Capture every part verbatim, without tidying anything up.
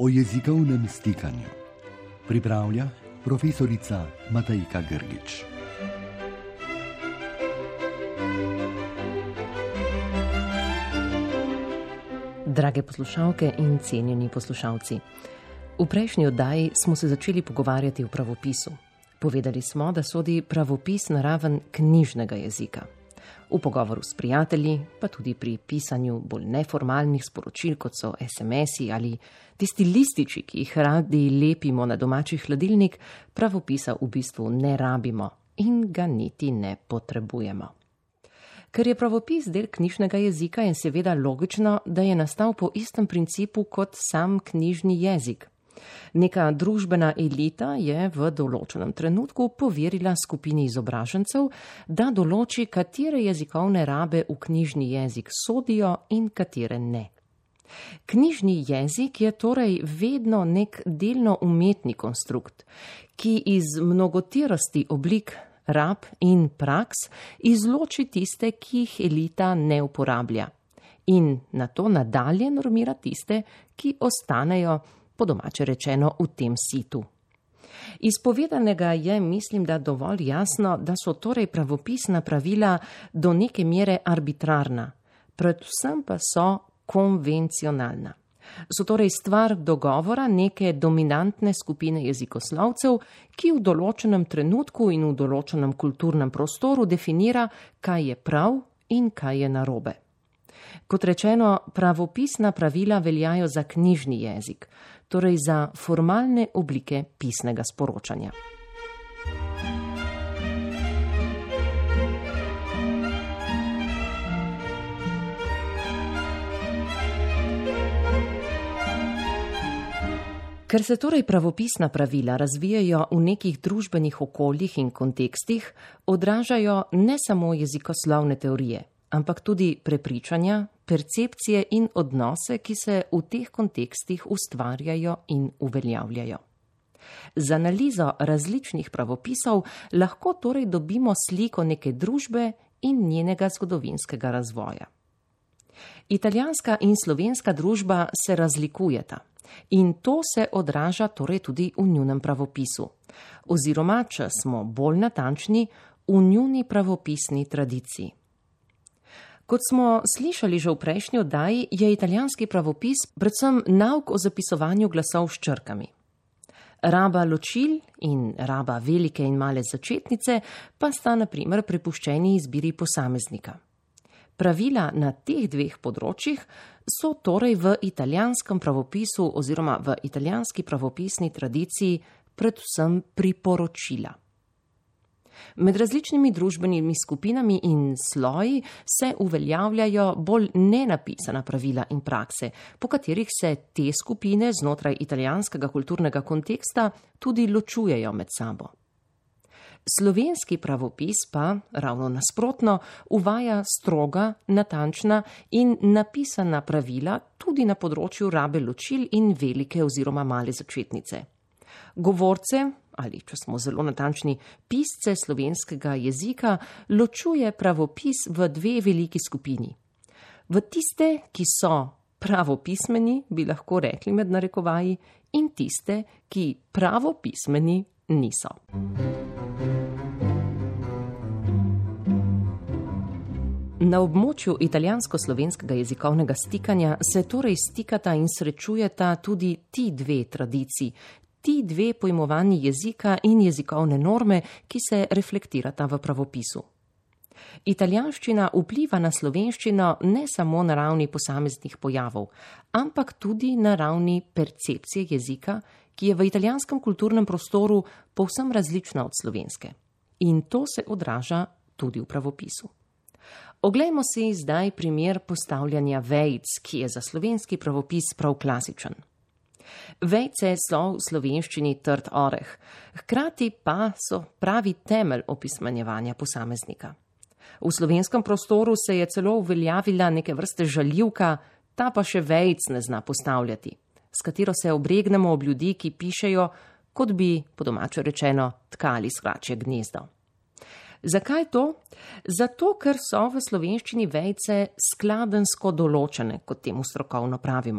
o jezikovnem stikanju. Pripravlja profesorica Matejka Grgič. Drage poslušalke in cenjeni poslušalci, v prejšnji oddaji smo se začeli pogovarjati o pravopisu. Povedali smo, da sodi pravopis na raven knjižnega jezika. V pogovoru s prijatelji, pa tudi pri pisanju bolj neformalnih sporočil, kot so es em esi ali tisti lističi, ki jih radi lepimo na domači hladilnik, pravopisa v bistvu ne rabimo in ga niti ne potrebujemo. Ker je pravopis del knjižnega jezika, je seveda logično, da je nastal po istem principu kot sam knjižni jezik. Neka družbena elita je v določenem trenutku poverila skupini izobražencev, da določi, katere jezikovne rabe v knjižni jezik sodijo in katere ne. Knjižni jezik je torej vedno nek delno umetni konstrukt, ki iz mnogoterosti oblik, rab in praks izloči tiste, ki jih elita ne uporablja, in nato nadalje normira tiste, ki ostanejo, po domače rečeno, v tem situ. Iz povedanega je, mislim, da dovolj jasno, da so torej pravopisna pravila do neke mere arbitrarna, predvsem pa so konvencionalna. So torej stvar dogovora neke dominantne skupine jezikoslovcev, ki v določenem trenutku in v določenem kulturnem prostoru definira, kaj je prav in kaj je narobe. Kot rečeno, pravopisna pravila veljajo za knjižni jezik, torej za formalne oblike pisnega sporočanja. Ker se torej pravopisna pravila razvijajo v nekih družbenih okoljih in kontekstih, odražajo ne samo jezikoslovne teorije, ampak tudi prepričanja, percepcije in odnose, ki se v teh kontekstih ustvarjajo in uveljavljajo. Z analizo različnih pravopisov lahko torej dobimo sliko neke družbe in njenega zgodovinskega razvoja. Italijanska in slovenska družba se razlikujeta in to se odraža torej tudi v njunem pravopisu, oziroma, če smo bolj natančni, v njuni pravopisni tradiciji. Kot smo slišali že v prejšnji oddaji, je italijanski pravopis predvsem nauk o zapisovanju glasov s črkami. Raba ločil in raba velike in male začetnice pa sta na primer prepuščeni izbiri posameznika. Pravila na teh dveh področjih so torej v italijanskem pravopisu oziroma v italijanski pravopisni tradiciji predvsem priporočila. Med različnimi družbenimi skupinami in sloji se uveljavljajo bolj nenapisana pravila in prakse, po katerih se te skupine znotraj italijanskega kulturnega konteksta tudi ločujejo med sabo. Slovenski pravopis pa, ravno nasprotno, uvaja stroga, natančna in napisana pravila tudi na področju rabe ločil in velike oziroma male začetnice. Govorce, ali če smo zelo natančni, pisce slovenskega jezika, ločuje pravopis v dve veliki skupini. V tiste, ki so pravopismeni, bi lahko rekli med narekovaji, in tiste, ki pravopismeni niso. Na območju italijansko-slovenskega jezikovnega stikanja se torej stikata in srečujeta tudi ti dve tradiciji, ti dve pojmovanji jezika in jezikovne norme, ki se reflektirata v pravopisu. Italijanščina vpliva na slovenščino ne samo na ravni posameznih pojavov, ampak tudi na ravni percepcije jezika, ki je v italijanskem kulturnem prostoru povsem različna od slovenske. In to se odraža tudi v pravopisu. Oglejmo si zdaj primer postavljanja vejic, ki je za slovenski pravopis prav klasičen. Vejice so v slovenščini trd oreh, hkrati pa so pravi temelj opismenjevanja posameznika. V slovenskem prostoru se je celo uveljavila neke vrste žaljivka, ta pa še vejic ne zna postavljati, s katero se obregnemo ob ljudi, ki pišejo, kot bi, po domače rečeno, tkali skračje gnezdo. Zakaj to? Zato, ker so v slovenščini vejice skladensko določene, kot temu strokovno pravimo.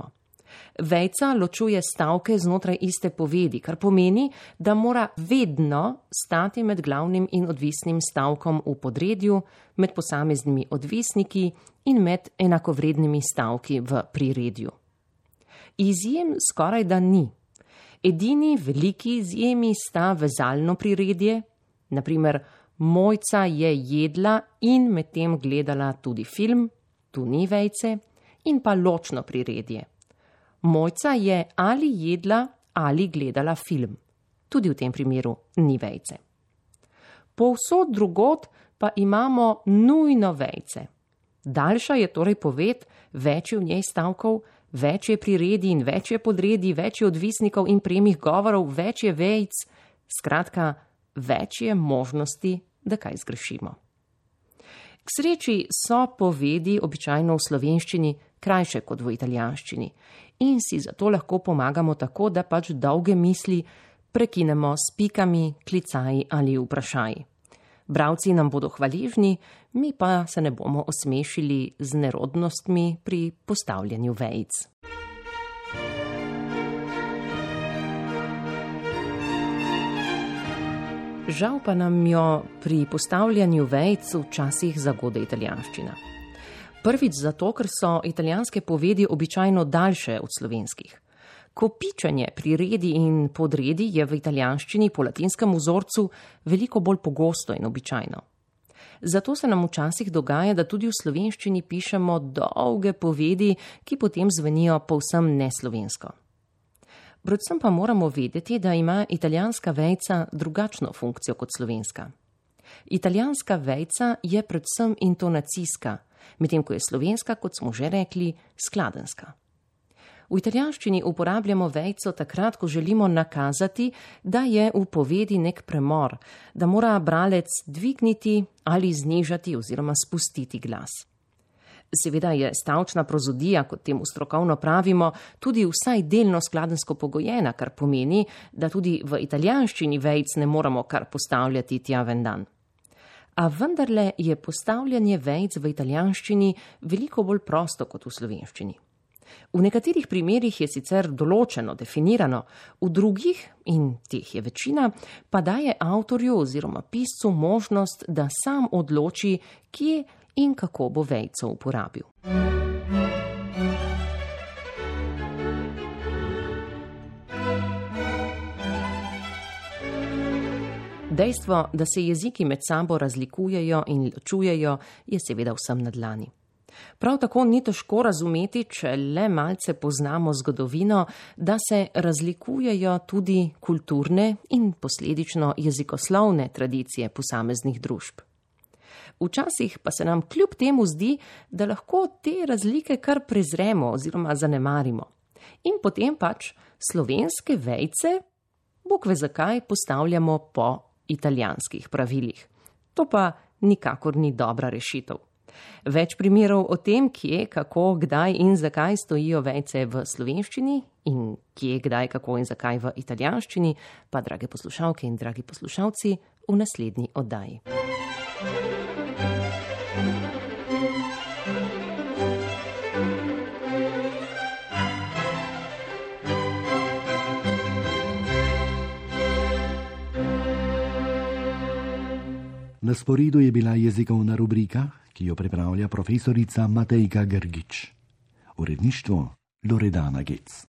Vejca ločuje stavke znotraj iste povedi, kar pomeni, da mora vedno stati med glavnim in odvisnim stavkom v podredju, med posameznimi odvisniki in med enakovrednimi stavki v priredju. Izjem skoraj da ni. Edini veliki izjemi sta vezalno priredje, na primer Mojca je jedla in medtem gledala tudi film, tu ni vejce, in pa ločno priredje. Mojca je ali jedla ali gledala film. Tudi v tem primeru ni vejce. Povsod drugod pa imamo nujno vejce. Daljša je torej poved, več je v njej stavkov, več je priredij in več je podredij, več je odvisnikov in premih govorov, več je vejc, skratka, več je možnosti, da kaj zgrešimo. K sreči so povedi običajno v slovenščini krajše kot v italijanščini in si zato lahko pomagamo tako, da pač dolge misli prekinemo s pikami, klicaji ali vprašaji. Bralci nam bodo hvaležni, mi pa se ne bomo osmešili z nerodnostmi pri postavljanju vejic. Žal pa nam jo pri postavljanju vejic včasih zagode italijanščina. Prvič zato, ker so italijanske povedi običajno daljše od slovenskih. Kopičenje priredi in podredi je v italijanščini po latinskem vzorcu veliko bolj pogosto in običajno. Zato se nam včasih dogaja, da tudi v slovenščini pišemo dolge povedi, ki potem zvenijo povsem neslovensko. Predvsem pa moramo vedeti, da ima italijanska vejca drugačno funkcijo kot slovenska. Italijanska vejca je predvsem intonacijska, medtem ko je slovenska, kot smo že rekli, skladenska. V italijanščini uporabljamo vejco takrat, ko želimo nakazati, da je v povedi nek premor, da mora bralec dvigniti ali znižati oziroma spustiti glas. Seveda je stavčna prozodija, kot temu strokovno pravimo, tudi vsaj delno skladensko pogojena, kar pomeni, da tudi v italijanščini vejc ne moramo kar postavljati tja ven dan. A vendarle je postavljanje vejc v italijanščini veliko bolj prosto kot v slovenščini. V nekaterih primerih je sicer določeno, definirano, v drugih, in teh je večina, pa daje avtorju oziroma piscu možnost, da sam odloči, kje in kako bo vejco uporabil. Dejstvo, da se jeziki med sabo razlikujejo in ločujejo, je seveda vsem na dlani. Prav tako ni težko razumeti, če le malce poznamo zgodovino, da se razlikujejo tudi kulturne in posledično jezikoslovne tradicije posameznih družb. Včasih pa se nam kljub temu zdi, da lahko te razlike kar prezremo oziroma zanemarimo. In potem pač slovenske vejce, bog ve zakaj, postavljamo po italijanskih pravilih. To pa nikakor ni dobra rešitev. Več primerov o tem, kje, kako, kdaj in zakaj stojijo vejce v slovenščini in kje, kdaj, kako in zakaj v italijanščini, pa drage poslušalke in dragi poslušalci, v naslednji oddaji. Na sporedu je bila jezikovna rubrika, ki jo pripravlja profesorica Matejka Grgič. Uredništvo Loredana Gec.